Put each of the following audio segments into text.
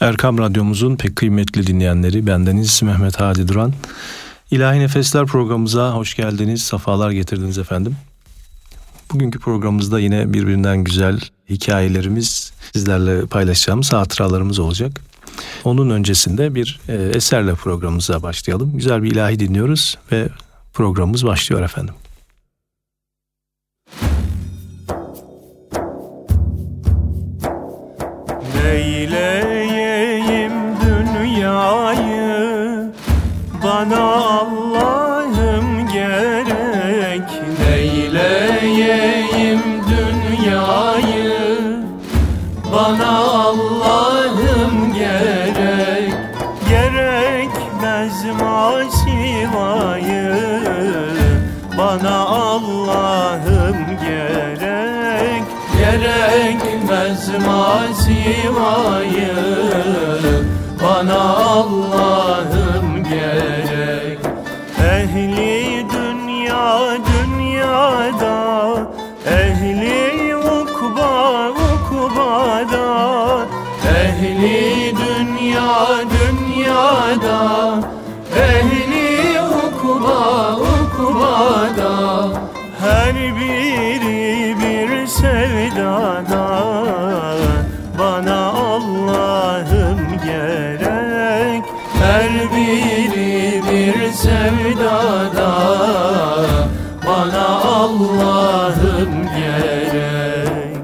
Erkam Radyomuzun pek kıymetli dinleyenleri, bendeniz Mehmet Hadi Duran. İlahi Nefesler programımıza hoş geldiniz, sefalar getirdiniz efendim. Bugünkü programımızda yine birbirinden güzel hikayelerimiz, sizlerle paylaşacağımız hatıralarımız olacak. Onun öncesinde bir eserle programımıza başlayalım. Güzel bir ilahi dinliyoruz ve programımız başlıyor efendim. Neyleyeyim dünyayı, bana Allah'ım gerek. Neyleyeyim dünyayı, bana Allah'ım gerek. Gerekmez masivayı, bana Allah'ım gerek. Gerekmez masivayı, bana Allah'ım gerek. Ehli dünya dünyada, ehli ukba ukbada. Ehli dünya dünyada, ehli ukba ukbada. Her biri bir sevdada, bana Allah'ım gerek. Her biri bir sevdada, bana Allah'ım gerek.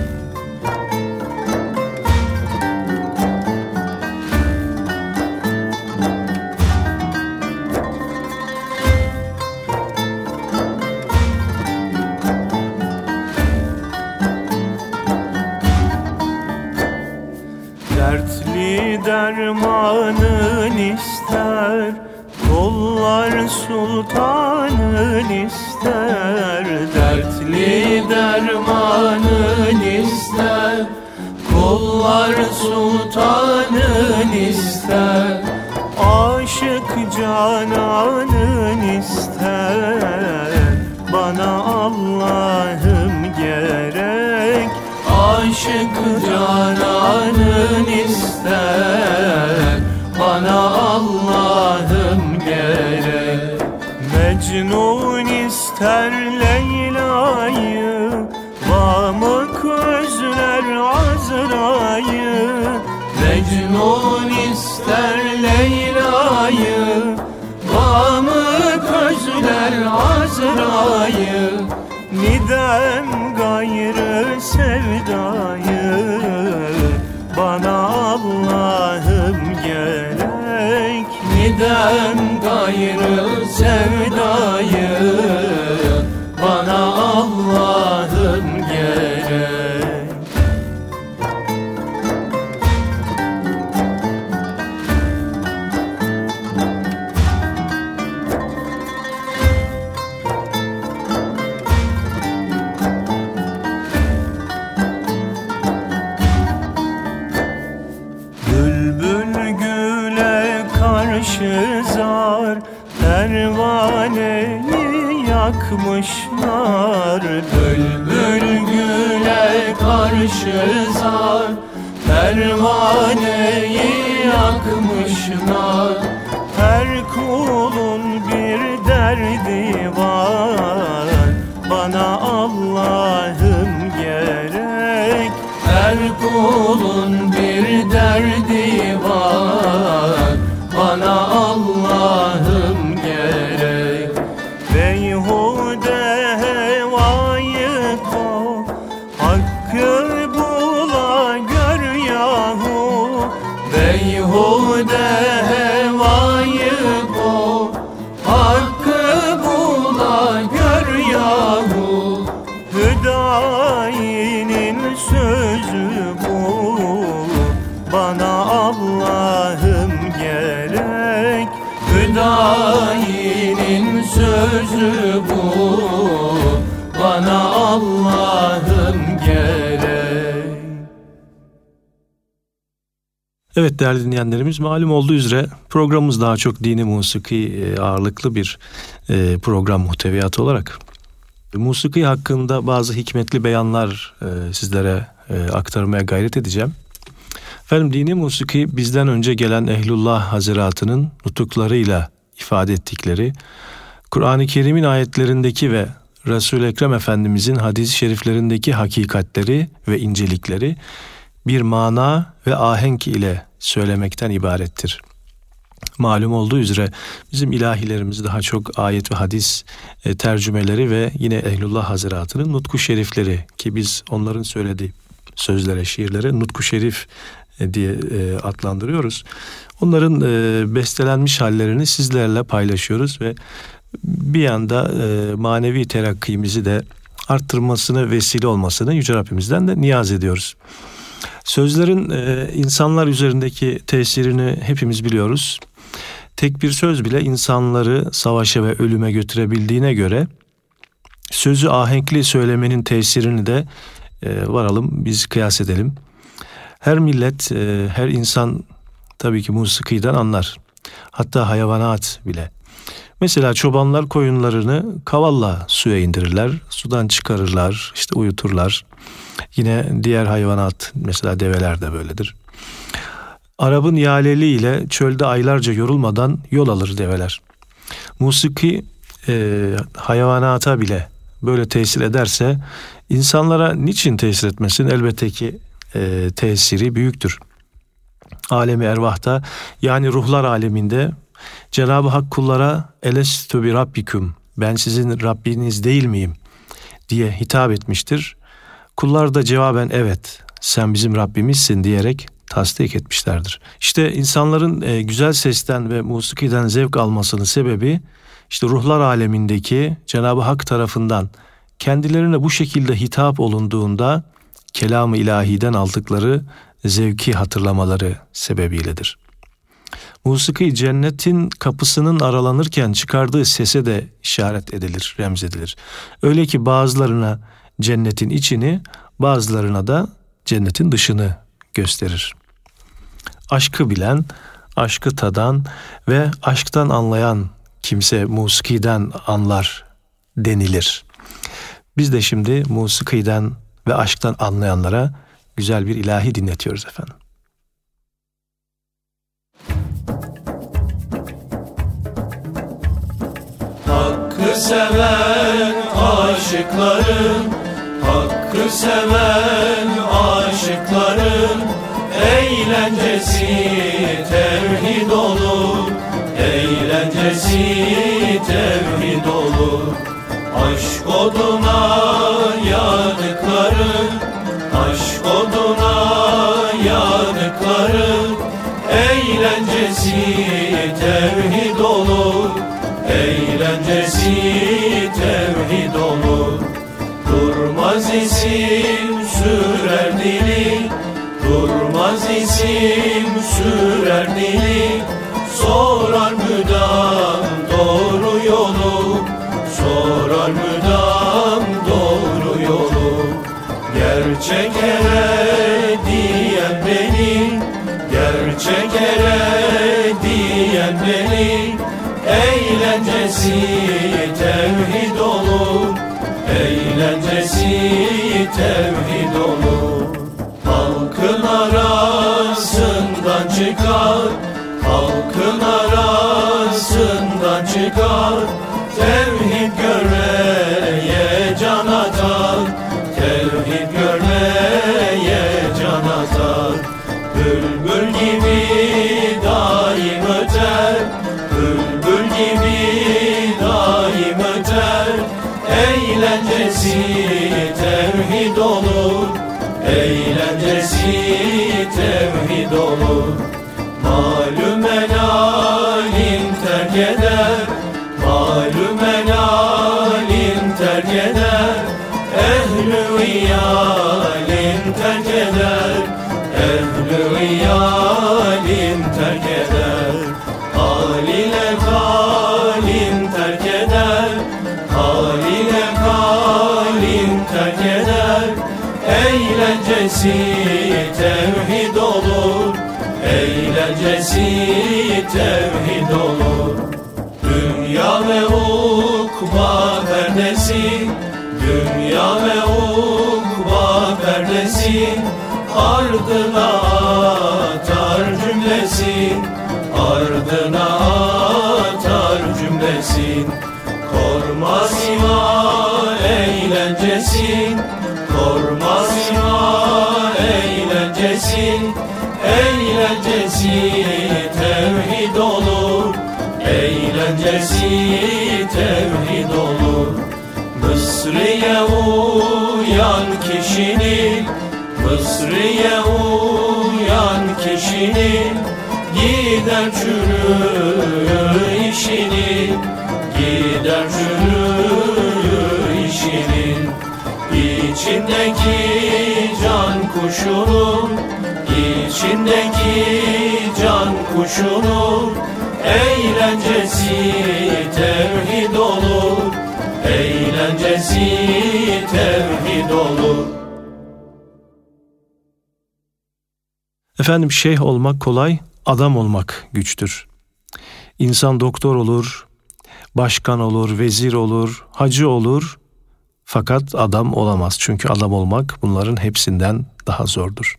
Dertli dermanın ister, kullar sultanın ister. Dertli dermanın ister, kullar sultanın ister. Aşık cananın ister, bana Allah'ım gerek. Aşık cananın ister, bana Allah'ım gerek. Mecnun ister Leyla'yı, Vamık özler Azra'yı. Mecnun ister Leyla'yı, Vamık özler Azra'yı. Nidem gayrı sevdayı, bana Allah'ım gerek. Nidem gayrı sevdayı, bana Allah'ım gerek. Zar pervaneyi yakmışlar. Bülbül güle karşı zar pervaneyi yakmışlar. Her kulun bir derdi var, bana Allah'ım gerek. Her kulun bir derdi var, bana Allah'ım gerek. Beyhude hevayı kov, hakkı bula gör yahu. Beyhude hevayı kov, hakkı bula gör yahu. Hüdayi'nin sözü bu, bana Allah'ım gerek. Hüdayi'nin sözü bu, bana Allah'ım gerek. Evet değerli dinleyenlerimiz, malum olduğu üzere programımız daha çok dini musiki ağırlıklı bir program muhteviyatı olarak musiki hakkında bazı hikmetli beyanlar sizlere aktarmaya gayret edeceğim. Efendim, dini musiki bizden önce gelen Ehlullah Hazretleri'nin nutuklarıyla ifade ettikleri, Kur'an-ı Kerim'in ayetlerindeki ve Resul-i Ekrem Efendimizin hadis-i şeriflerindeki hakikatleri ve incelikleri bir mana ve ahenk ile söylemekten ibarettir. Malum olduğu üzere bizim ilahilerimiz daha çok ayet ve hadis tercümeleri ve yine Ehlullah Hazretleri'nin nutku şerifleri, ki biz onların söylediği sözlere, şiirlere nutku şerif diye adlandırıyoruz. Onların bestelenmiş hallerini sizlerle paylaşıyoruz ve bir yanda manevi terakkimizi de arttırmasını, vesile olmasını Yüce Rabbimizden de niyaz ediyoruz. Sözlerin insanlar üzerindeki tesirini hepimiz biliyoruz. Tek bir söz bile insanları savaşa ve ölüme götürebildiğine göre sözü ahenkli söylemenin tesirini de varalım biz kıyas edelim. Her millet, her insan tabii ki musikiden anlar. Hatta hayvanat bile. Mesela çobanlar koyunlarını kavalla suya indirirler, sudan çıkarırlar, işte uyuturlar. Yine diğer hayvanat, mesela develer de böyledir. Arabın yaleli ile çölde aylarca yorulmadan yol alır develer. Musiki hayvanata bile böyle tesir ederse insanlara niçin tesir etmesin? Elbette ki tesiri büyüktür. Alemi ervahta, yani ruhlar aleminde Cenab-ı Hak kullara elestü bi rabbikum, ben sizin Rabbiniz değil miyim diye hitap etmiştir. Kullar da cevaben evet, sen bizim Rabbimizsin diyerek tasdik etmişlerdir. İşte insanların güzel sesten ve musikiden zevk almasının sebebi, işte ruhlar alemindeki Cenab-ı Hak tarafından kendilerine bu şekilde hitap olunduğunda kelam-ı ilahiden aldıkları zevki hatırlamaları sebebiyledir. Musiki cennetin kapısının aralanırken çıkardığı sese de işaret edilir, remzedilir. Öyle ki bazılarına cennetin içini, bazılarına da cennetin dışını gösterir. Aşkı bilen, aşkı tadan ve aşktan anlayan kimse musikiden anlar denilir. Biz de şimdi musikiden ve aşktan anlayanlara güzel bir ilahi dinletiyoruz efendim. Hakkı seven aşıkların, hakkı seven aşıkların eğlencesi tevhid olur, eğlencesi tevhid olur. Aşk oduna yanıkların, aşk oduna yanıkların eğlencesi tevhid olur, eğlencesi tevhid olur. Durmaz isim sürer dili, durmaz isim sürer dili. Sorar müdam doğru yolu, sorar müdam doğru yolu. Gerçek ere diyen beni, gerçek ere diyen beni. Eğlencesi tevhid olur, eğlencesi tevhid olur. Halkın arasından çıkar, halkın arasından çıkar. Tevhid görmeye can atar, tevhid görmeye can atar. Bülbül gibi daim öter, bülbül gibi daim öter. Eğlencesi tevhid olur, eğlencesi tevhid olur. Malum helalin terk eder, malum helalin terk eder. Ehl-i iyalin terk eder, ehl-i iyalin terk eder. Hal ile kalin terk eder, hal ile kalin terk eder. Eğlencesi tevhid olur, eğlencesi tevhid olur. Dünya ve ukba perdesi, dünya ve ukba perdesi ardına kişinin eğlencesi tevhid olur, eğlencesi tevhid olur. Mısri'ye uyan kişinin, Mısri'ye uyan kişinin gider çürür işinin, gider çürür işinin. İçindeki can kuşunun, içindeki can kuşunun eğlencesi tevhid olur, eğlencesi tevhid olur. Efendim, şeyh olmak kolay, adam olmak güçtür. İnsan doktor olur, başkan olur, vezir olur, hacı olur. Fakat adam olamaz. Çünkü adam olmak bunların hepsinden daha zordur.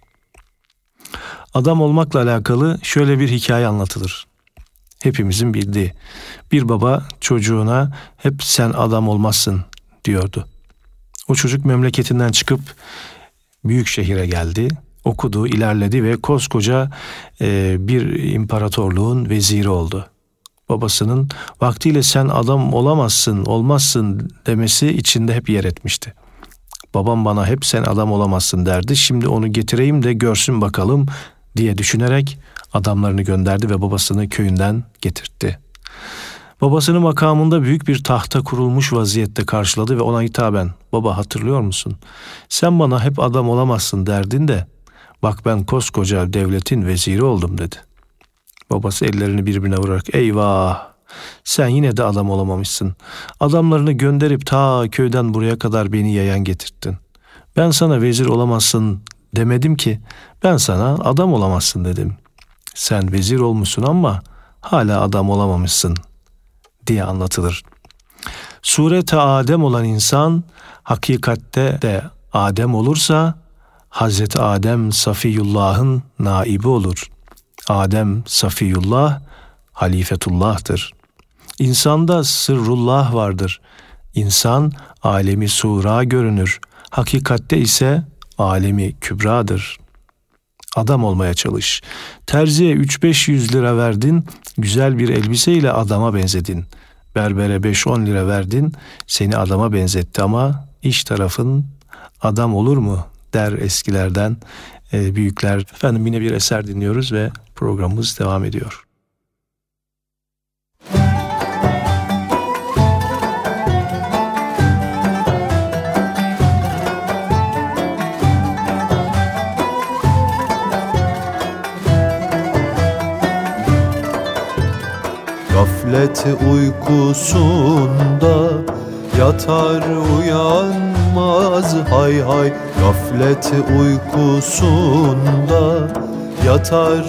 Adam olmakla alakalı şöyle bir hikaye anlatılır. Hepimizin bildiği. Bir baba çocuğuna hep sen adam olmazsın diyordu. O çocuk memleketinden çıkıp büyük şehire geldi. Okudu, ilerledi ve koskoca bir imparatorluğun veziri oldu. Babasının vaktiyle sen adam olamazsın, olmazsın demesi içinde hep yer etmişti. Babam bana hep sen adam olamazsın derdi. Şimdi onu getireyim de görsün bakalım diye düşünerek adamlarını gönderdi ve babasını köyünden getirtti. Babasını makamında büyük bir tahta kurulmuş vaziyette karşıladı ve ona hitaben, baba hatırlıyor musun? Sen bana hep adam olamazsın derdin de bak ben koskoca devletin veziri oldum dedi. Babası ellerini birbirine vurarak eyvah sen yine de adam olamamışsın. Adamlarını gönderip ta köyden buraya kadar beni yayan getirttin. Ben sana vezir olamazsın demedim ki, ben sana adam olamazsın dedim. Sen vezir olmuşsun ama hala adam olamamışsın diye anlatılır. Surete Adem olan insan hakikatte de Adem olursa Hazreti Adem Safiyullah'ın naibi olur. Adem Safiyullah halifetullah'tır. İnsanda sırrullah vardır. İnsan alemi sura görünür. Hakikatte ise alemi kübradır. Adam olmaya çalış. Terziye 3-500 lira verdin, güzel bir elbiseyle adama benzedin. Berbere 5-10 lira verdin, seni adama benzetti ama iç tarafın adam olur mu der eskilerden büyükler. Efendim, yine bir eser dinliyoruz ve programımız devam ediyor. Gaflet uykusunda yatar uyanmaz hay hay. Gaflet uykusunda yatar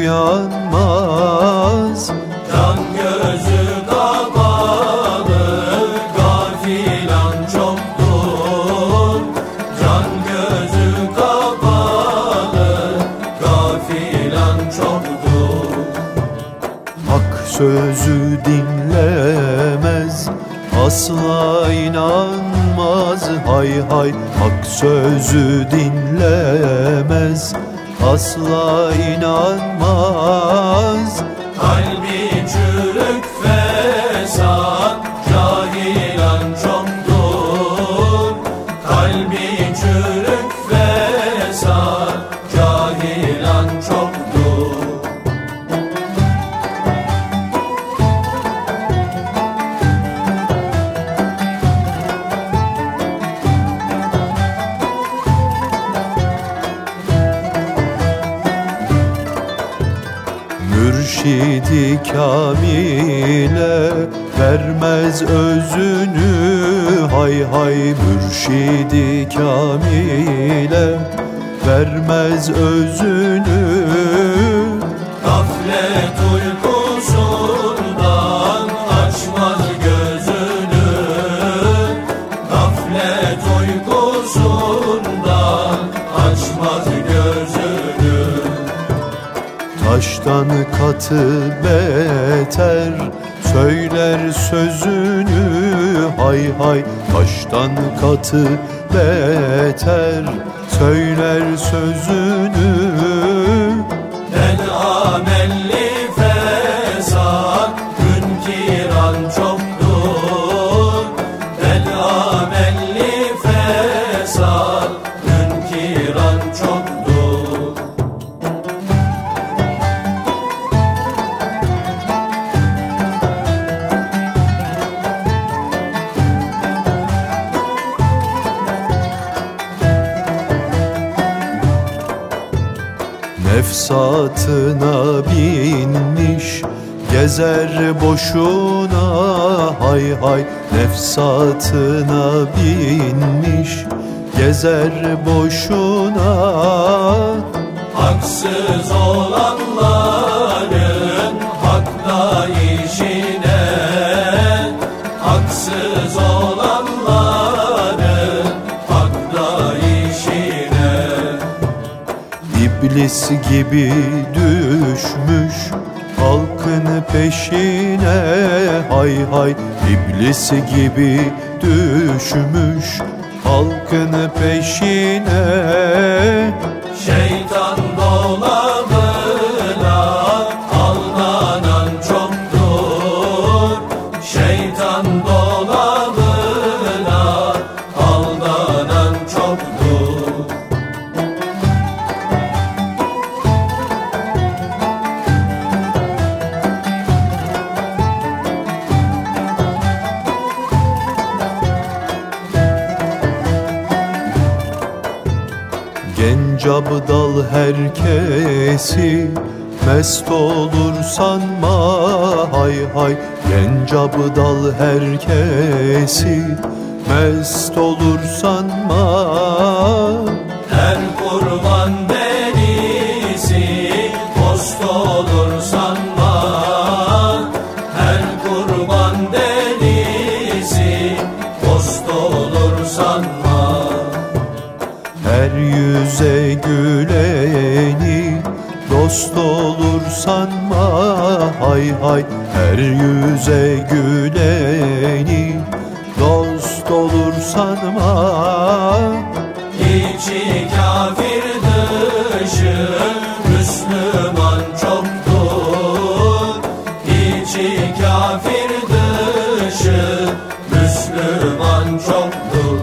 uyanmaz. Can gözü kapalı gafilan çoktur. Can gözü kapalı gafilan çoktur. Hak sözü dinlemez, asla inanmaz hay hay. Hak sözü dinlemez, asla inanmaz. Kalbi çürük fesat cahilan çoktur. Kalbi çürük fesat cahilan çoktur. Mürşidi kamile vermez özünü hay hay. Mürşidi kamile vermez özünü. Gaflet uykusundan açmaz gözünü. Gaflet uykusundan açmaz gözünü. Taştan katı beter söyler sözünü hay hay. Taştan katı beter söyler sözünü. nefsatına binmiş, gezer boşuna, hay hay nefsatına binmiş, gezer boşuna. Haksız olanların hakla işine, haksız olanların hakla işine. İblis gibi düşmüş halkın peşine, hay hay iblis gibi düşmüş halkın peşine. Şeytan dolabına aldanan çoktur, şeytan dolabına aldanan çoktur. Genç abdal herkesi mest olur sanma, hay hay genç abdal herkesi mest olur sanma. Her kurban delisi dost olur sanma, her kurban delisi dost olur sanma. Her yüze güleni dost olur sanma, hay hay her yüze güleni dost olur sanma. İçi kafir dışı Müslüman çoktur, İçi kafir dışı Müslüman çoktur.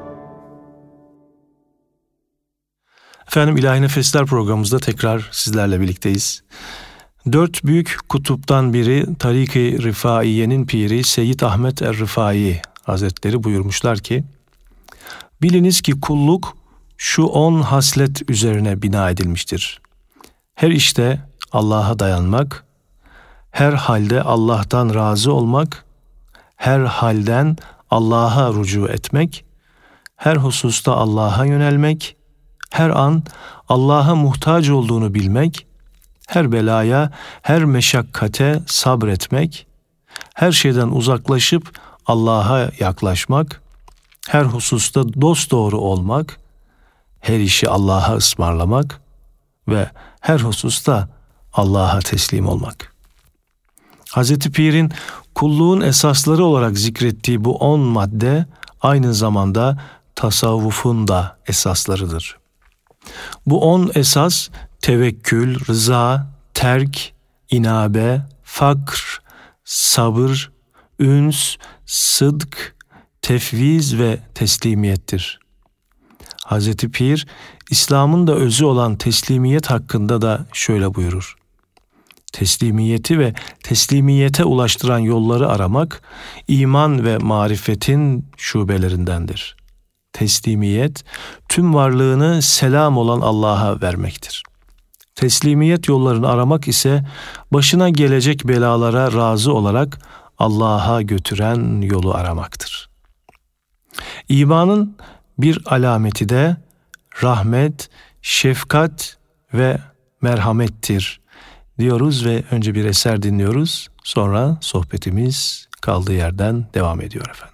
Efendim İlahi Nefesler programımızda tekrar sizlerle birlikteyiz. 4 büyük kutuptan biri Tarik-i Rifaiye'nin piri Seyyid Ahmet Er-Rifai Hazretleri buyurmuşlar ki, biliniz ki kulluk şu 10 haslet üzerine bina edilmiştir. Her işte Allah'a dayanmak, her halde Allah'tan razı olmak, her halden Allah'a rücu etmek, her hususta Allah'a yönelmek, her an Allah'a muhtaç olduğunu bilmek, her belaya, her meşakkate sabretmek, her şeyden uzaklaşıp Allah'a yaklaşmak, her hususta dosdoğru olmak, her işi Allah'a ısmarlamak ve her hususta Allah'a teslim olmak. Hazreti Pir'in kulluğun esasları olarak zikrettiği bu 10 madde aynı zamanda tasavvufun da esaslarıdır. Bu 10 esas tevekkül, rıza, terk, inabe, fakr, sabır, üns, sıdk, tefviz ve teslimiyettir. Hazreti Pir, İslam'ın da özü olan teslimiyet hakkında da şöyle buyurur. Teslimiyeti ve teslimiyete ulaştıran yolları aramak, iman ve marifetin şubelerindendir. Teslimiyet, tüm varlığını selam olan Allah'a vermektir. Teslimiyet yollarını aramak ise, başına gelecek belalara razı olarak Allah'a götüren yolu aramaktır. İmanın bir alameti de rahmet, şefkat ve merhamettir diyoruz ve önce bir eser dinliyoruz. Sonra sohbetimiz kaldığı yerden devam ediyor efendim.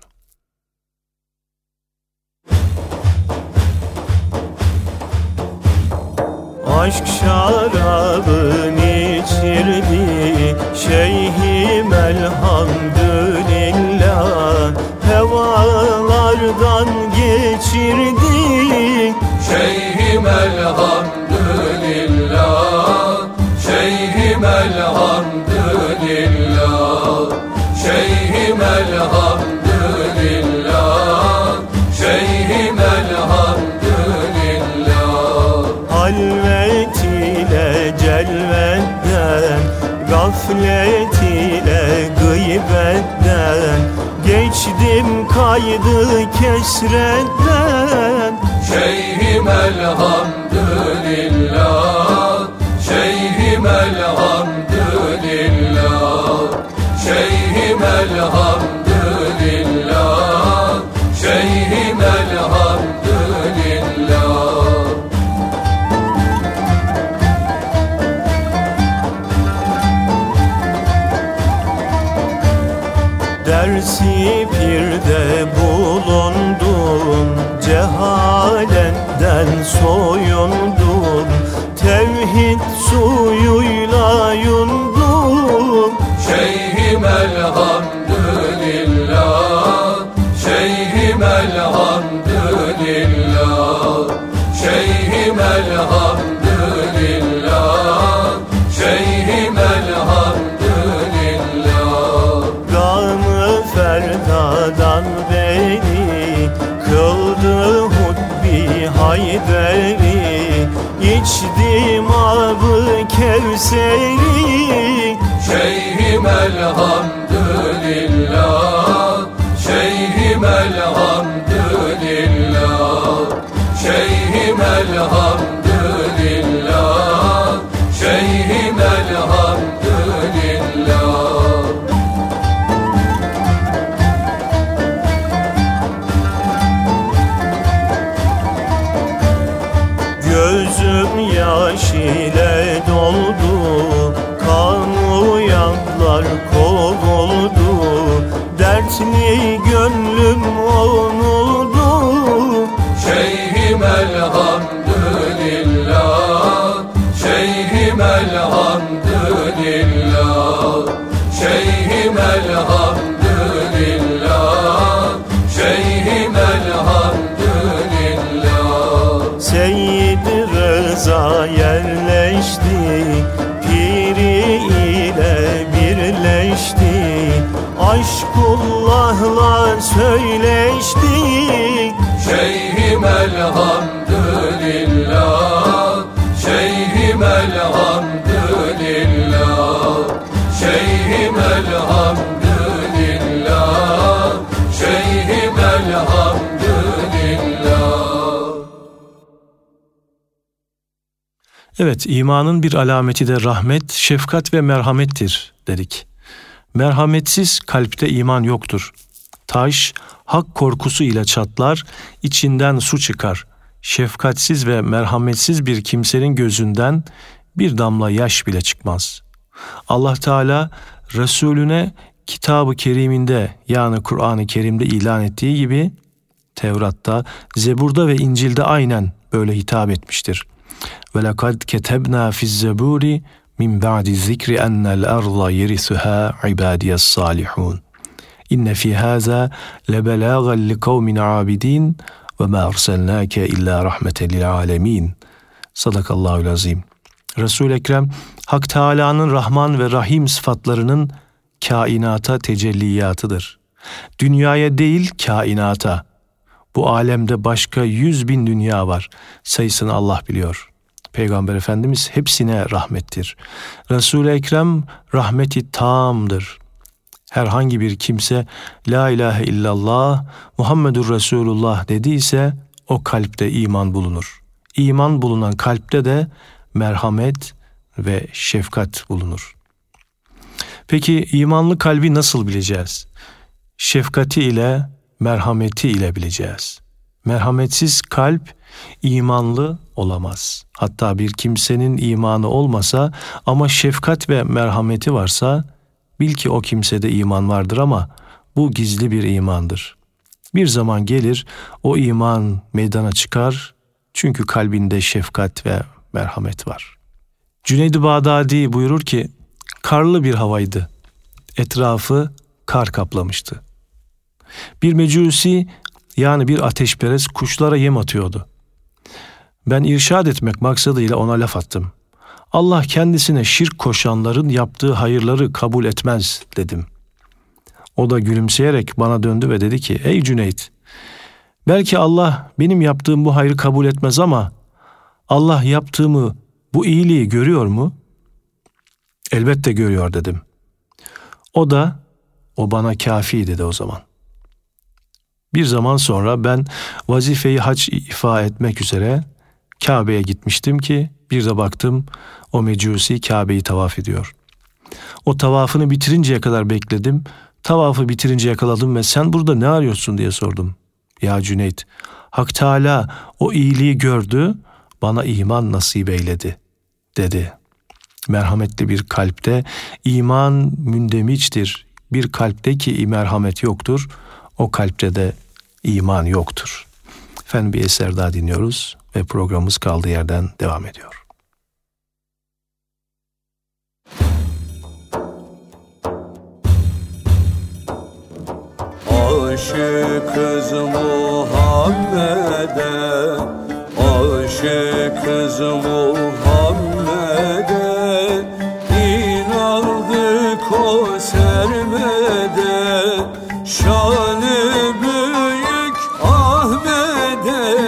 Aşk şarabın içirdi şeyhim elhamdülillah, hevalardan geçirdi Şeyhim elhamdülillah, Şeyhim elhamdülillah, Şeyhim elhamdülillah, Şeyhim elhamdülillah. halvet ile celvetten, gaflet ile gıybetten, geçtim kaydı kesretten. Şeyhim elhamdülillah, Şeyhim Şeyhim elhamdülillah, şeyhim elhamdülillah, şeyhim elhamdülillah. Dersi pirde bulundun, cehaletten soyundun, tevhid suyuyla yundun. Şeyhim elhamdülillah, şeyhim elhamdülillah, şeyhim elhamdülillah, şeyhim elhamdülillah. Gamı ferdadan beri kıldı hutbi Hayderi, içtim abı Kevseri. Şeyhim elhamdülillah, şeyhim elhamdülillah, şeyhim elhamdülillah, şeyhim elhamdülillah. Gözüm yaş ile doldu, kamuyanlar kovuldu, dertli gönlüm onuldu. Şeyhim elhamdülillah, şeyhim elhamdülillah, şeyhim elhamdülillah, şeyhim elhamdülillah. Seyyid Rıza yerleşti, piri ile birleşti, aşkullahla söyleşti. Şeyhim elhamdülillah, şeyhim elhamdülillah, şeyhim elhamdülillah, şeyhim elhamdülillah. Evet, imanın bir alameti de rahmet, şefkat ve merhamettir dedik. Merhametsiz kalpte iman yoktur. Taş, hak korkusu ile çatlar, içinden su çıkar. Şefkatsiz ve merhametsiz bir kimsenin gözünden bir damla yaş bile çıkmaz. Allah Teala Resulüne Kitab-ı Kerim'inde, yani Kur'an-ı Kerim'de ilan ettiği gibi Tevrat'ta, Zebur'da ve İncil'de aynen böyle hitap etmiştir. وَلَقَدْ كَتَبْنَا فِي الزَّبُورِ مِنْ بَعْدِ الذِّكْرِ أَنَّ الْأَرْضَ يَرِثُهَا عِبَادِيَ الصَّالِحُونَ إِنَّ فِي هَذَا لَبَلَاغًا لِقَوْمٍ عَابِدِينَ وَمَا أَرْسَلْنَاكَ إِلَّا رَحْمَةً لِلْعَالَمِينَ. Sadakallahul azim. Resul-i Ekrem, Hak Teâlâ'nın Rahman ve Rahim sıfatlarının kainata tecelliyatıdır. Dünyaya değil, kainata. Bu alemde başka 100.000 dünya var. Sayısını Allah biliyor. Peygamber Efendimiz hepsine rahmettir. Resul-i Ekrem rahmeti tamdır. Herhangi bir kimse La ilahe illallah Muhammedur Resulullah dediyse o kalpte iman bulunur. İman bulunan kalpte de merhamet ve şefkat bulunur. Peki imanlı kalbi nasıl bileceğiz? Şefkati ile, merhameti ile bileceğiz. Merhametsiz kalp imanlı olamaz. Hatta bir kimsenin imanı olmasa ama şefkat ve merhameti varsa bil ki o kimsede iman vardır ama bu gizli bir imandır. Bir zaman gelir o iman meydana çıkar çünkü kalbinde şefkat ve merhamet var. Cüneyd-i Bağdadi buyurur ki karlı bir havaydı. Etrafı kar kaplamıştı. Bir mecusi yani bir ateşperest kuşlara yem atıyordu. Ben irşad etmek maksadıyla ona laf attım. Allah kendisine şirk koşanların yaptığı hayırları kabul etmez dedim. O da gülümseyerek bana döndü ve dedi ki ey Cüneyt, belki Allah benim yaptığım bu hayrı kabul etmez ama Allah yaptığımı, bu iyiliği görüyor mu? Elbette görüyor dedim. O bana kafi dedi o zaman. Bir zaman sonra ben vazifeyi hac ifa etmek üzere Kabe'ye gitmiştim ki bir de baktım o Mecusi Kabe'yi tavaf ediyor. O tavafını bitirinceye kadar bekledim. Tavafı bitirince yakaladım ve sen burada ne arıyorsun diye sordum. Ya Cüneyt, Hak Teâlâ o iyiliği gördü, bana iman nasip eyledi dedi. Merhametli bir kalpte iman mündemiçtir. Bir kalpte ki merhamet yoktur, o kalpte de iman yoktur. Efendim bir eser daha dinliyoruz ve programımız kaldığı yerden devam ediyor. Aşıkız Muhammed'e, aşıkız Muhammed'e, inandık o sermede, şanı büyük Ahmet'e.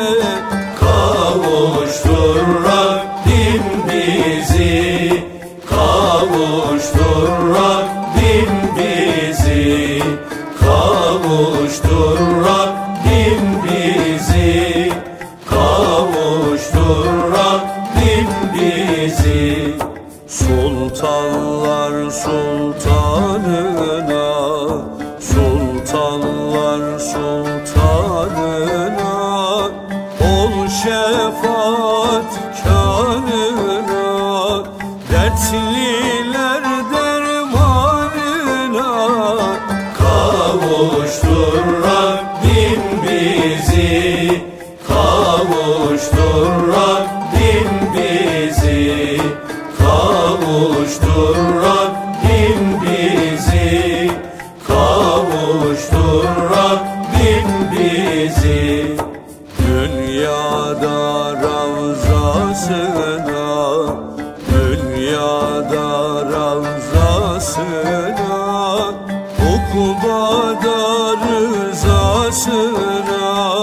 Kavuştur Rabbim bizi, kavuştur Rabbim bizi, kavuştur Rabbim bizi, kavuştur Rabbim bizi. Sultanlar sultanına, sultanlar sultanına, ol şefaat kânına, dertliler dermanına. Kavuştur Rabbim bizi, kavuştur Rabbim bizi, kavuştur Rabbim bizi, kavuştur Rabbim bizi. Dünyada ravzasına, dünyada ravzasına, ukbada rızasına,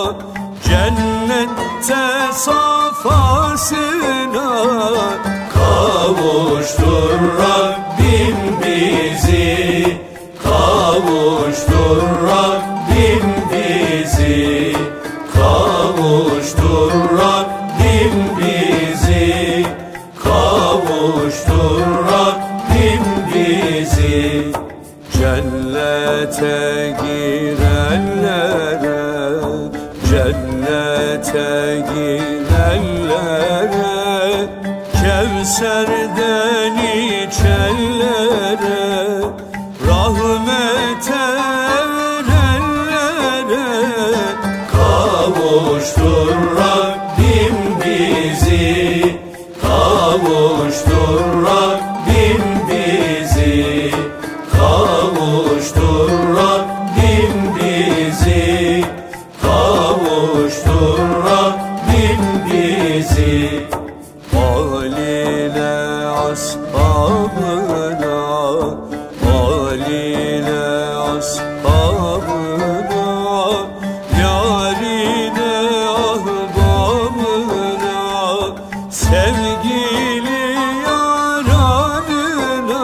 cennette safasına. Kavuştur Rabbim bizi, kavuştur Rabbim bizi, kavuştur Rabbim bizi, kavuştur Rabbim bizi. Cennete girenlere, cennete girenlere, Kevser'den içenlere, rahmete erenlere. Kavuştur Rabbim bizi, kavuştur Rabbim bizi, kavuştur Rabbim bizi, kavuştur Rabbim bizi. Aliyle ashabına, aliyle ashabına, yarine ahbabına, sevgili yaranına.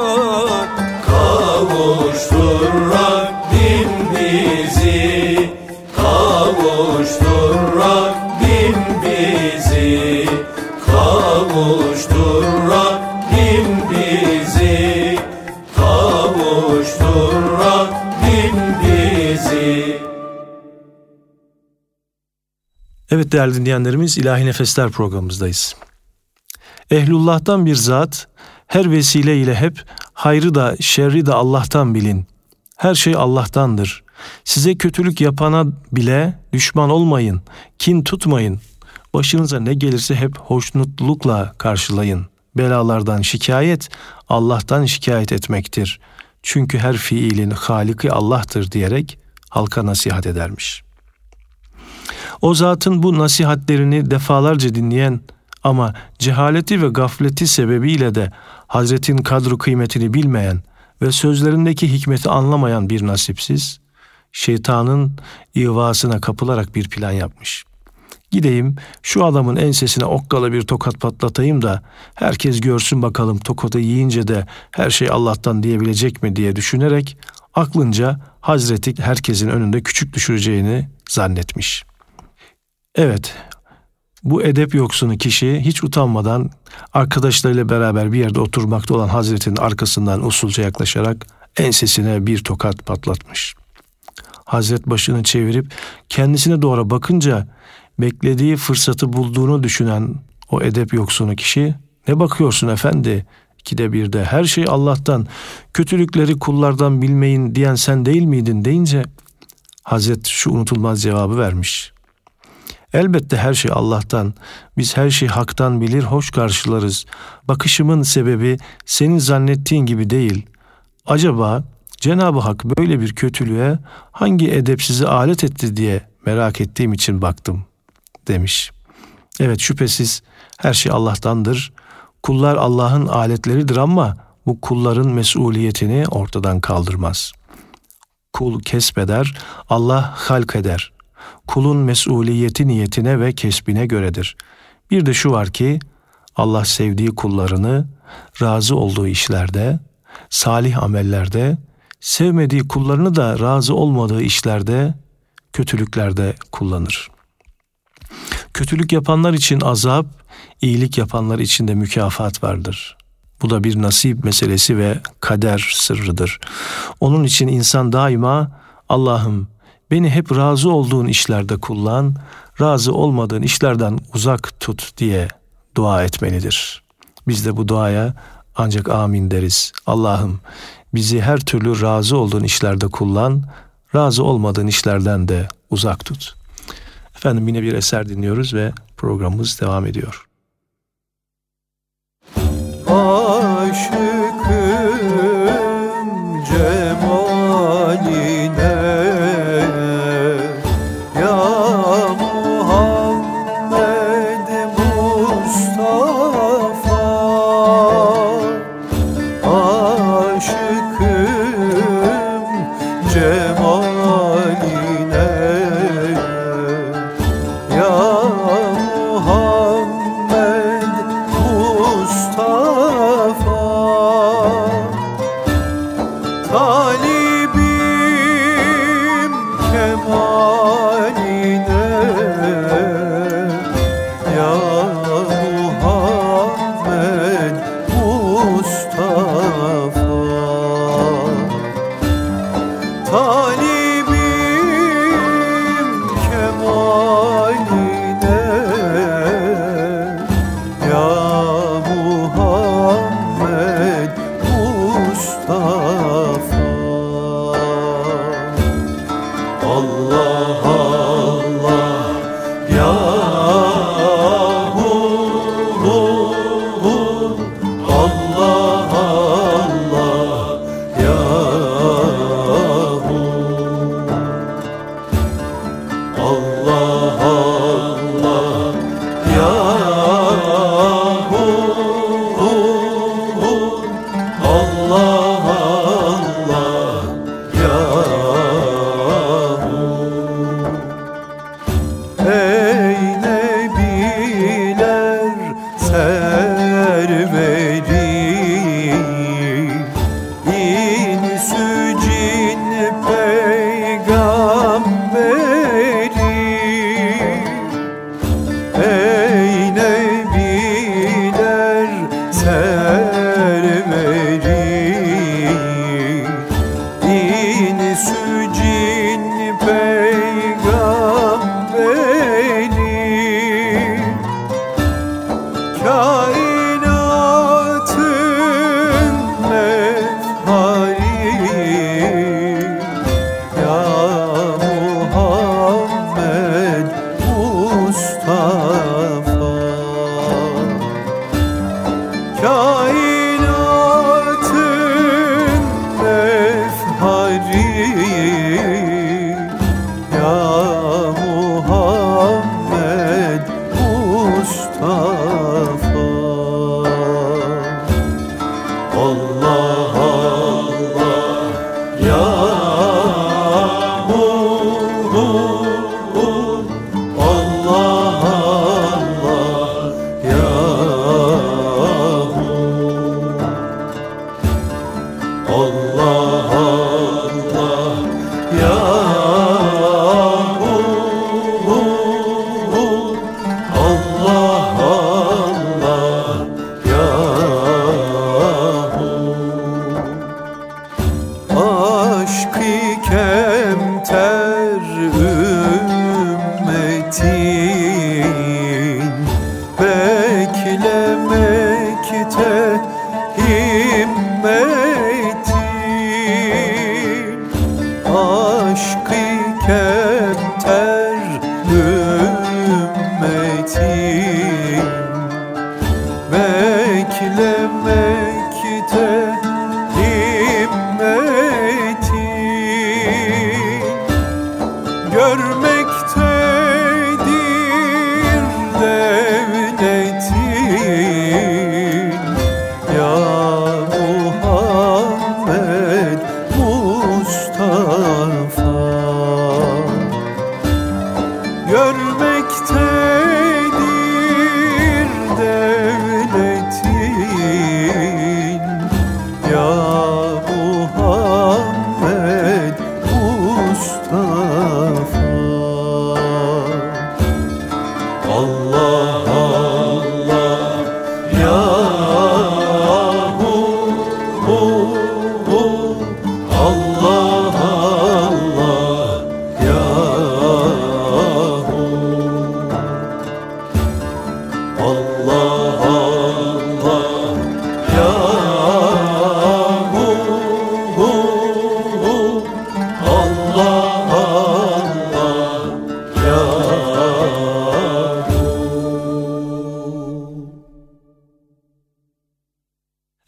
Kavuştur Rabbim bizi, kavuştur Rabbim bizi, kavuştur Rabbim bizi, kavuştur Rabbim bizi. Evet değerli dinleyenlerimiz, İlahi Nefesler programımızdayız. Ehlullah'tan bir zat, her vesile ile hep hayrı da şerri de Allah'tan bilin. Her şey Allah'tandır. Size kötülük yapana bile düşman olmayın, kin tutmayın. Başınıza ne gelirse hep hoşnutlukla karşılayın. Belalardan şikayet, Allah'tan şikayet etmektir. Çünkü her fiilin Haliki Allah'tır diyerek halka nasihat edermiş. O zatın bu nasihatlerini defalarca dinleyen ama cehaleti ve gafleti sebebiyle de Hazretin kadru kıymetini bilmeyen ve sözlerindeki hikmeti anlamayan bir nasipsiz, şeytanın ihvasına kapılarak bir plan yapmış. Gideyim şu adamın ensesine okkalı bir tokat patlatayım da herkes görsün bakalım tokatı yiyince de her şey Allah'tan diyebilecek mi diye düşünerek aklınca Hazreti herkesin önünde küçük düşüreceğini zannetmiş. Evet, Bu edep yoksunu kişi hiç utanmadan arkadaşlarıyla beraber bir yerde oturmakta olan Hazret'in arkasından usulca yaklaşarak ensesine bir tokat patlatmış. Hazret başını çevirip kendisine doğru bakınca beklediği fırsatı bulduğunu düşünen o edep yoksunu kişi, "Ne bakıyorsun efendi? İkide birde her şey Allah'tan, kötülükleri kullardan bilmeyin diyen sen değil miydin?" deyince Hazret şu unutulmaz cevabı vermiş: "Elbette her şey Allah'tan, biz her şeyi haktan bilir, hoş karşılarız. Bakışımın sebebi senin zannettiğin gibi değil. Acaba Cenab-ı Hak böyle bir kötülüğe hangi edepsizi alet etti diye merak ettiğim için baktım," demiş. Evet, şüphesiz her şey Allah'tandır. Kullar Allah'ın aletleridir ama bu kulların mesuliyetini ortadan kaldırmaz. Kul kesbeder, Allah halk eder. Kulun mesuliyeti niyetine ve kesbine göredir. Bir de şu var ki Allah sevdiği kullarını razı olduğu işlerde, salih amellerde, sevmediği kullarını da razı olmadığı işlerde, kötülüklerde kullanır. Kötülük yapanlar için azap, iyilik yapanlar için de mükafat vardır. Bu da bir nasip meselesi ve kader sırrıdır. Onun için insan daima "Allah'ım beni hep razı olduğun işlerde kullan, razı olmadığın işlerden uzak tut" diye dua etmelidir. Biz de bu duaya ancak amin deriz. Allah'ım bizi her türlü razı olduğun işlerde kullan, razı olmadığın işlerden de uzak tut. Efendim, yine bir eser dinliyoruz ve programımız devam ediyor. Aşıkım cemaline, ya Muhammed Mustafa. Aşıkım cemaline, ya Muhammed Mustafa. Talibim kemaline, ya Muhammed Mustafa. Talibim kemaline, ya Muhammed Mustafa. Allah Allah ya Allah Allah ya Allah Allah ya Allah Allah ya. Ey nebiler serveri, insü cin peygamberi. Ey nebiler serveri, insü cin peygamberi. Kainatın mefhari, ya Muhammed Mustafa. Kainatın mefhari, ya Muhammed Mustafa. Allah Allah ya Allah Allah ya Allah Allah ya Allah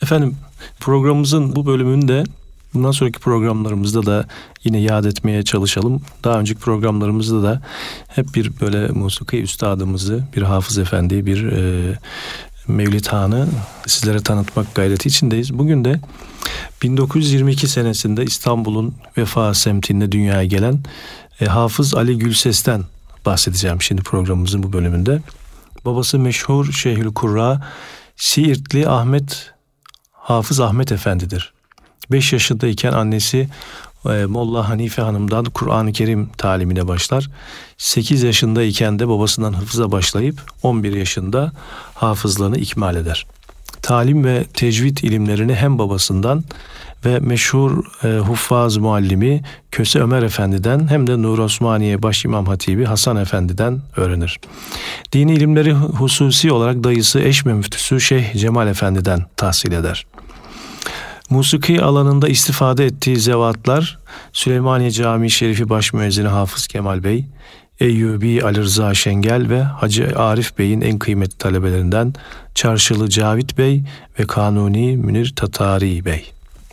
Efendim, programımızın bu bölümünde bundan sonraki programlarımızda da yine yad etmeye çalışalım. Daha önceki programlarımızda da hep bir böyle musiki üstadımızı, bir Hafız Efendi, bir Mevlid Han'ı sizlere tanıtmak gayreti içindeyiz. Bugün de 1922 senesinde İstanbul'un Vefa semtinde dünyaya gelen Hafız Ali Gülses'ten bahsedeceğim şimdi programımızın bu bölümünde. Babası meşhur Şeyhülkurra Siirtli Hafız Ahmet Efendi'dir. 5 yaşındayken annesi Molla Hanife Hanım'dan Kur'an-ı Kerim talimine başlar. 8 yaşındayken de babasından hıfza başlayıp 11 yaşında hafızlığını ikmal eder. Talim ve tecvid ilimlerini hem babasından ve meşhur huffaz muallimi Köse Ömer Efendi'den hem de Nur Osmaniye Başimam Hatibi Hasan Efendi'den öğrenir. Dini ilimleri hususi olarak dayısı Eşme Müftüsü Şeyh Cemal Efendi'den tahsil eder. Musiki alanında istifade ettiği zevatlar Süleymaniye Camii Şerifi Başmüezzini Hafız Kemal Bey, Eyyubi Ali Rıza Şengel ve Hacı Arif Bey'in en kıymetli talebelerinden Çarşılı Cavit Bey ve Kanuni Münir Tatari Bey.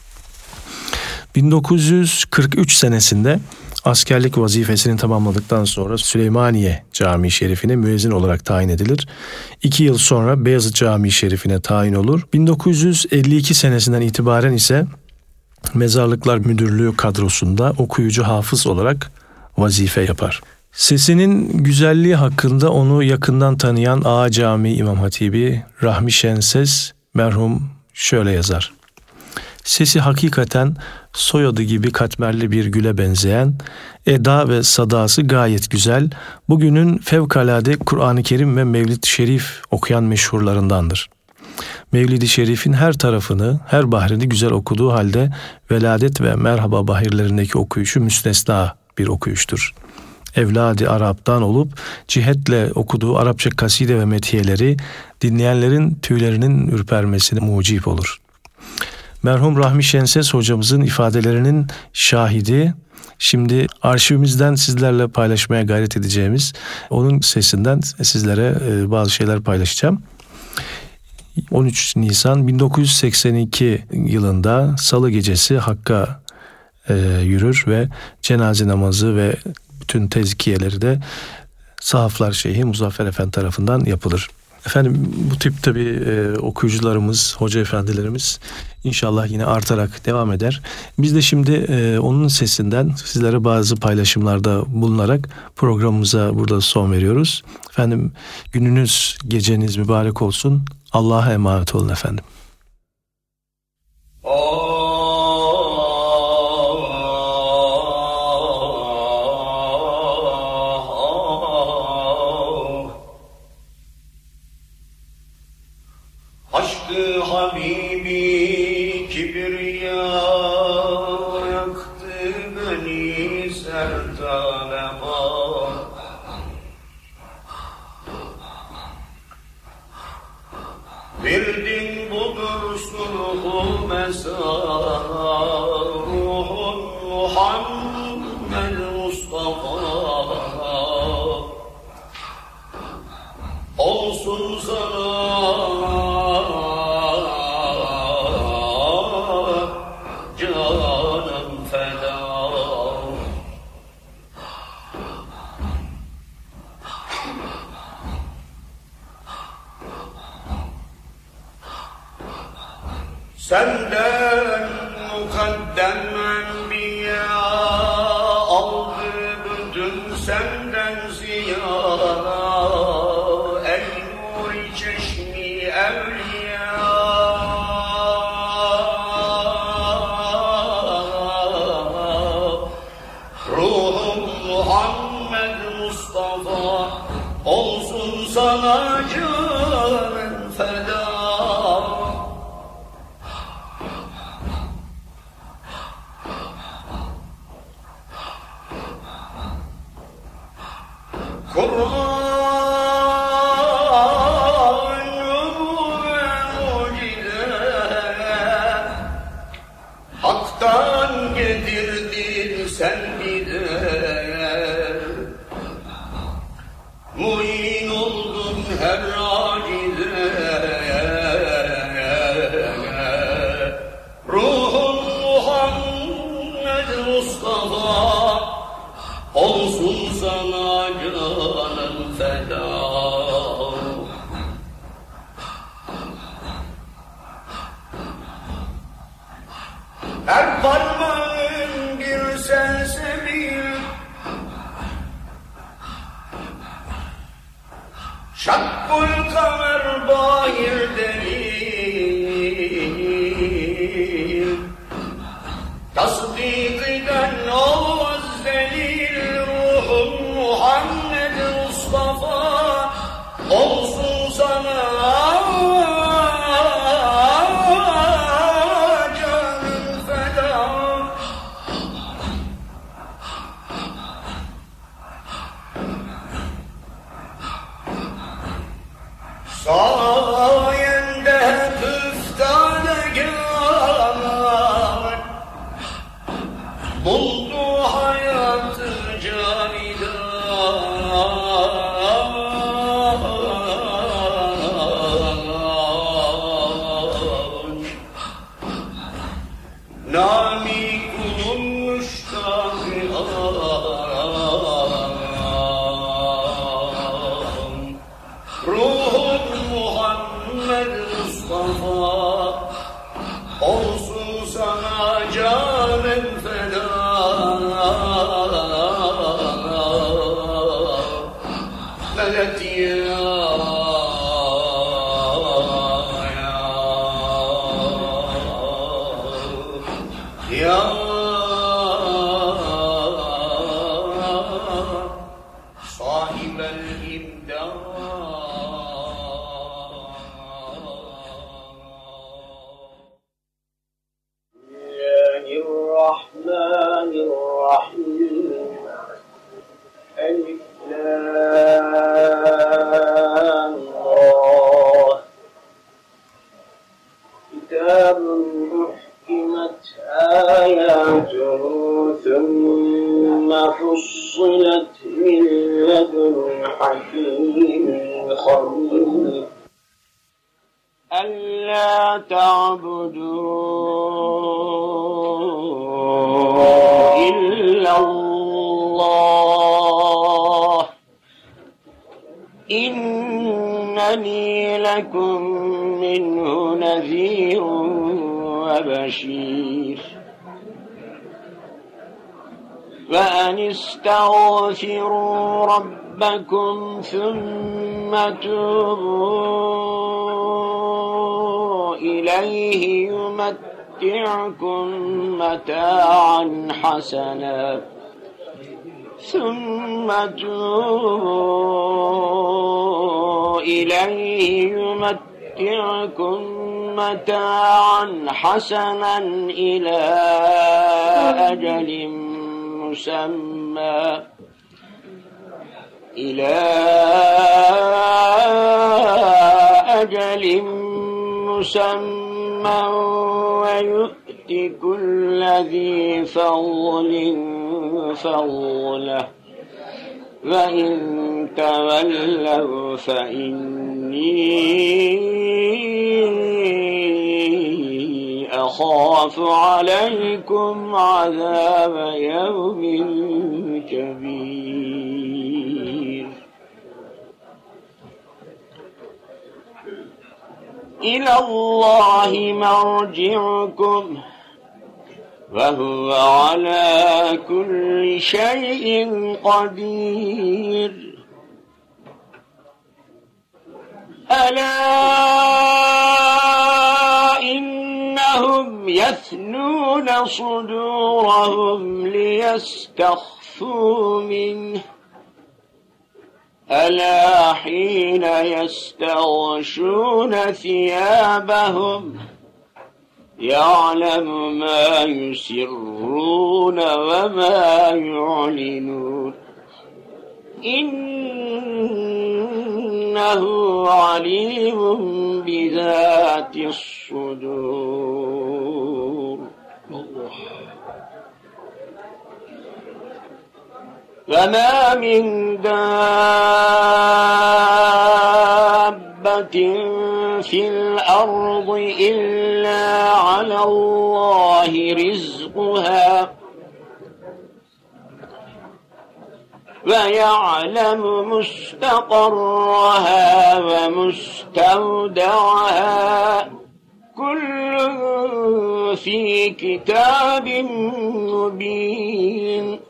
1943 senesinde askerlik vazifesini tamamladıktan sonra Süleymaniye Camii Şerifi'ne müezzin olarak tayin edilir. 2 yıl sonra Beyazıt Camii Şerifi'ne tayin olur. 1952 senesinden itibaren ise Mezarlıklar Müdürlüğü kadrosunda okuyucu hafız olarak vazife yapar. Sesinin güzelliği hakkında onu yakından tanıyan Ağa Camii İmam Hatibi Rahmi Şenses merhum şöyle yazar. Sesi hakikaten soyadı gibi katmerli bir güle benzeyen, eda ve sadası gayet güzel, bugünün fevkalade Kur'an-ı Kerim ve Mevlid-i Şerif okuyan meşhurlarındandır. Mevlid-i Şerif'in her tarafını, her bahrini güzel okuduğu halde veladet ve merhaba bahirlerindeki okuyuşu müstesna bir okuyuştur. Evladi Arap'tan olup cihetle okuduğu Arapça kaside ve metiyeleri dinleyenlerin tüylerinin ürpermesine mucip olur. Merhum Rahmi Şenses hocamızın ifadelerinin şahidi, şimdi arşivimizden sizlerle paylaşmaya gayret edeceğimiz onun sesinden sizlere bazı şeyler paylaşacağım. 13 Nisan 1982 yılında Salı gecesi Hakk'a yürür ve cenaze namazı ve bütün tezkiyeleri de Sahaflar Şeyhi Muzaffer Efendi tarafından yapılır. Efendim, bu tip tabii okuyucularımız, hoca efendilerimiz inşallah yine artarak devam eder. Biz de şimdi onun sesinden sizlere bazı paylaşımlarda bulunarak programımıza burada son veriyoruz. Efendim, gününüz, geceniz mübarek olsun. Allah'a emanet olun efendim. Aşkı Habibi kibriya yaktı beni sertanema. Verdin budur sulhu mesa, ruhun Muhammed Mustafa. Olsun sana canım feda. Senden mukaddem enbiya aldı bütün senden ziyara. Ey nur-i çeşmi evliya, ruhum Muhammed Mustafa, olsun sana canım feda. her parmağın bir sensebil, şakkul kamer bahir delil, tasdik eden olmaz delil, ruhun Muhammed Mustafa olsun sana canım feda. Sayende hep üftadegâr buldu hayatı canidan. Nami kulun müştakı ruhun Muhammed Mustafa olsun sana canım feda. Medet ya sahibel imdad. الرحمن الرحيم ألف لام را كتاب أحكمت آياته ثم فصلت من لدن حكيم خبير ألا تعبدوا إلا الله إنني لكم منه نذير وبشير وأن استغفروا ربكم ثم توبوا إليه يمتعكم متاعا حسنا إلى أجل مسمى ويؤت كل ذي فضل فضله وإن تولوا فإني أخاف عليكم عذاب يوم كبير إلى الله مرجعكم وهو على كل شيء قدير ألا إنهم يثنون صدورهم ليستخفوا منه ألا حين يستغشون ثيابهم يعلم ما يسرون وما يعلنون إنه عليم بذات الصدور وما من دابة في الأرض إلا على الله رزقها ويعلم مستقرها ومستودعها كله في كتاب مبين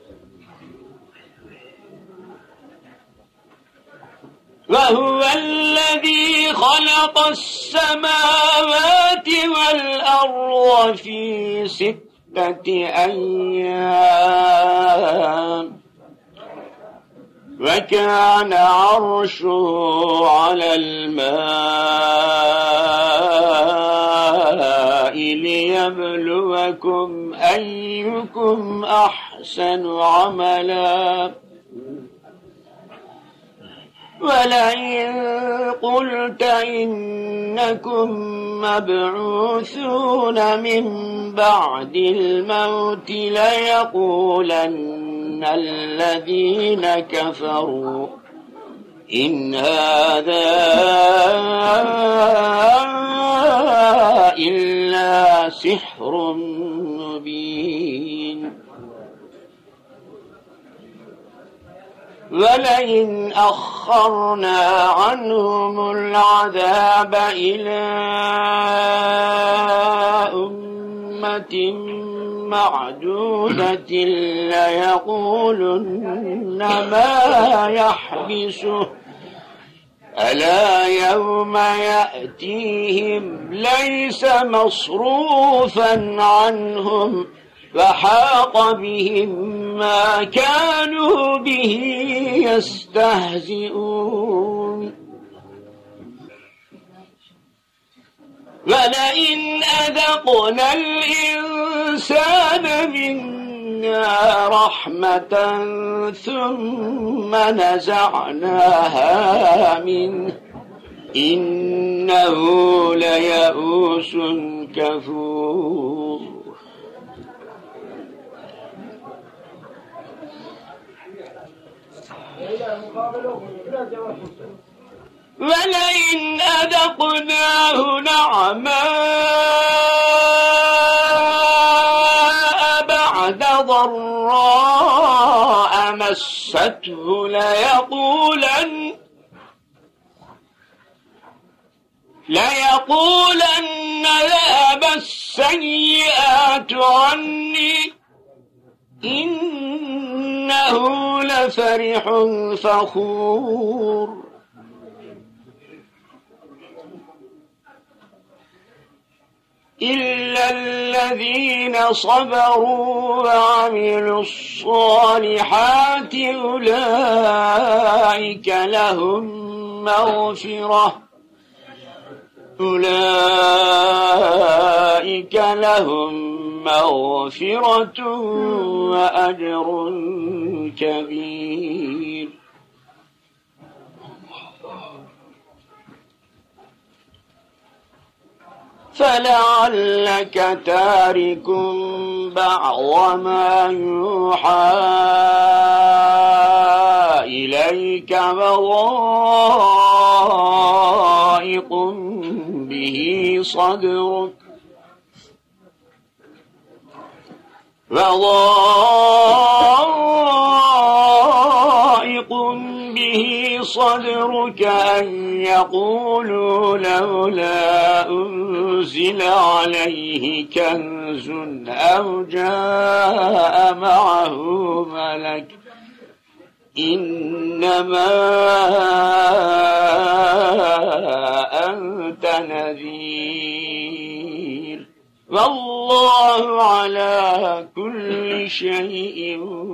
وهو الذي خلق السماوات والأرض في 6 أيام وكان عرشه على الماء ليبلوكم أيكم أحسن عملا ولئن قلت إنكم مبعوثون من بعد الموت ليقولن الذين كفروا إن هذا إلا سحر مبين ولئن أخرنا عنهم العذاب إلى أمة معدودة ليقولن ما يحبسه ألا يوم يأتيهم ليس مصروفا عنهم فحاق بهم ما كانوا به يستهزئون ولئن أذقنا الإنسان منا رحمة ثم نزعناها منه إنه ليئوس كفور ولئن أذقناه نعماء بعد ضراء مسته ليقولن ذهب السيئات عني إنه لفرح فخور إلا الذين صبروا وعملوا الصالحات أولئك لهم مغفرة وأجر كبير فلعلك تارك بعض ما يوحى إليك وضائق به صدرك أن يقولوا لولا أنزل عليه كنز أو جاء معه ملك إنما أنت نذير والله على كل شيء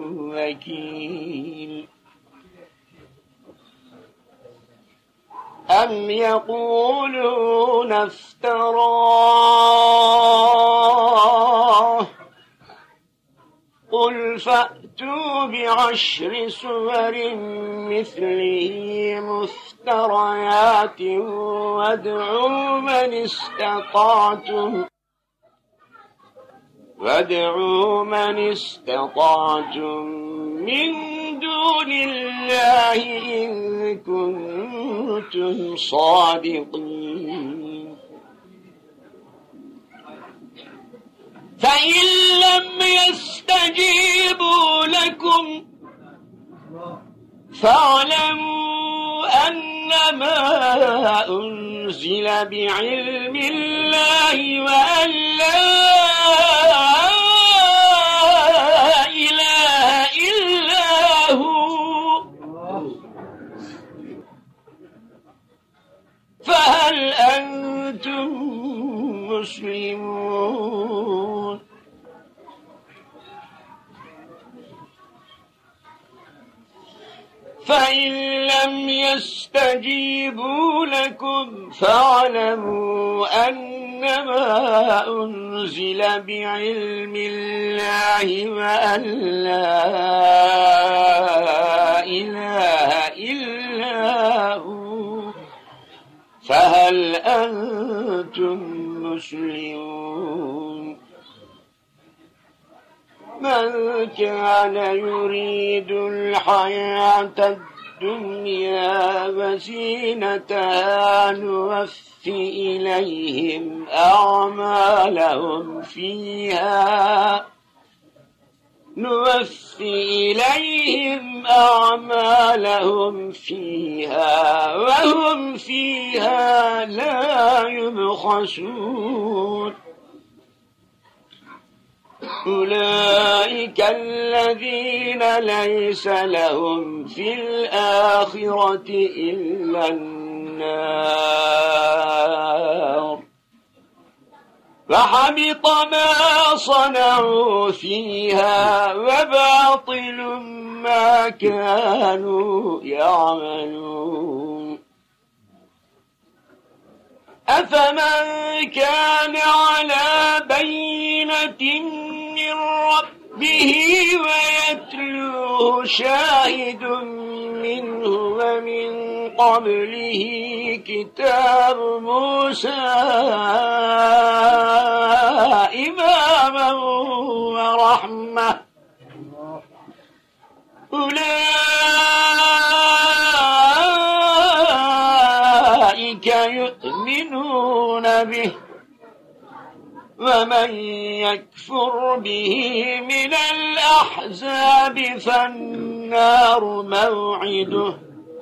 وكيل أم يقولون افتراه قل فأتوا بعشر سور مثله مفتريات وادعوا من استطعتم من دون الله إن كنتم صادقين فإن لم يستجيبوا لكم فاعلموا أنما أنزل أنزل بعلم الله وأن لا إله إلا هو، فهل أنتم مسلمون؟ فإن لم يستجيبوا لكم فاعلموا أنما أنزل بعلم الله وأن لا إله إلا هو، فهل أنتم مسلمون؟ من كان يريد الحياة الدنيا وزينتها نوفي إليهم أعمالهم فيها وهم فيها لا يبخسون. أولئك الذين ليس لهم في الآخرة إلا النار، فحبط ما صنعوا فيها وباطل ما كانوا يعملون. أفمن كان على بينة من ربه ويتلوه شاهد منه ومن قبله كتاب موسى إماما ورحمة، أولئك يؤمنون به، ومن يكفر به من الأحزاب فالنار موعده،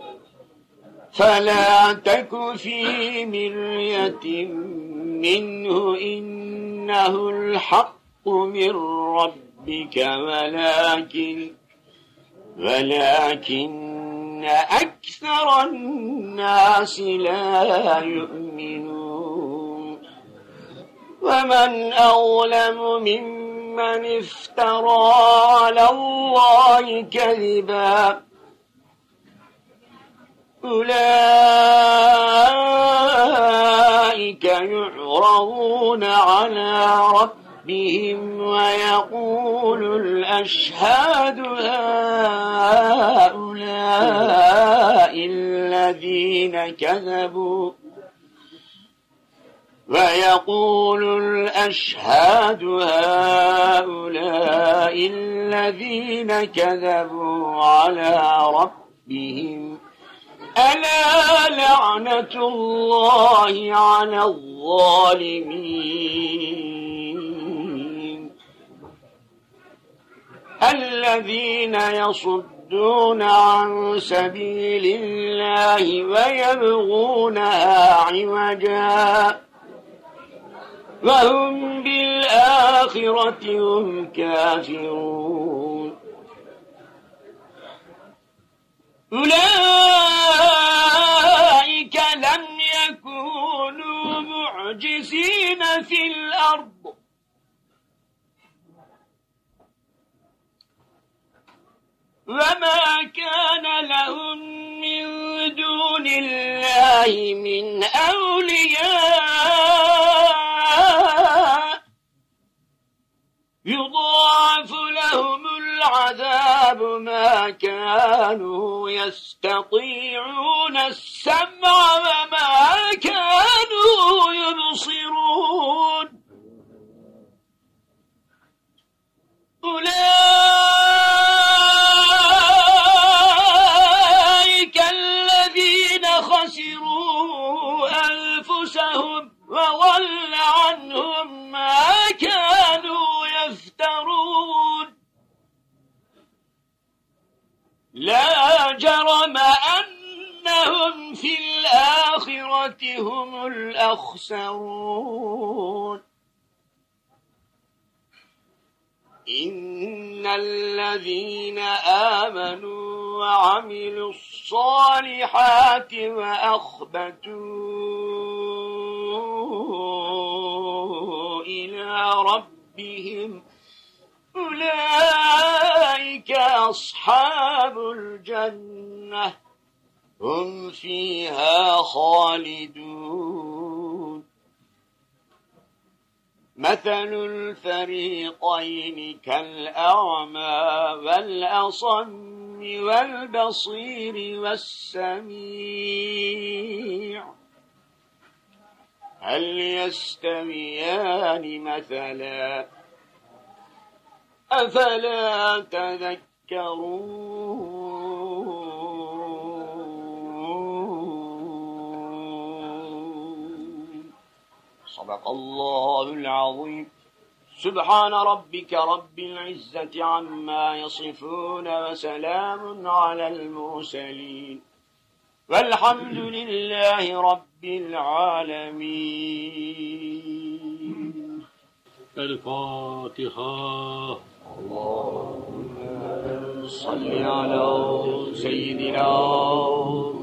فلا تك في مرية منه إنه الحق من ربك ولكن أكثر الناس لا يؤمنون. ومن أظلم ممن افترى على الله كذبا، أولئك يعرضون على ربهم ويقول الأشهاد هؤلاء الذين كذبوا على ربهم، ألا لعنة الله على الظالمين. الذين يصدون عن سبيل الله ويبغونها عوجا وهم بالآخرة هم كافرون. أولئك لم يكونوا معجزين في الأرض وما كان لهم من دون الله من أولياء، يضاعف لهم العذاب ما كانوا يستطيعون السمع وما كانوا يبصرون. أولئك الذين خسروا أنفسهم وضل عنهم ما كانوا يفترون. لا جرم أنهم في الآخرة هم الأخسرون إن الذين آمنوا وعملوا الصالحات وأخبتوا إلى ربهم أولئك أصحاب الجنة هم فيها خالدون مثل الفريقين كالأعمى والأصم والبصير والسميع هل يستويان مثلا أفلا تذكرون صدق الله العظيم سبحان ربك رب العزة عما يصفون وسلام على المرسلين والحمد لله رب العالمين الفاتحة اللهم صل على سيدنا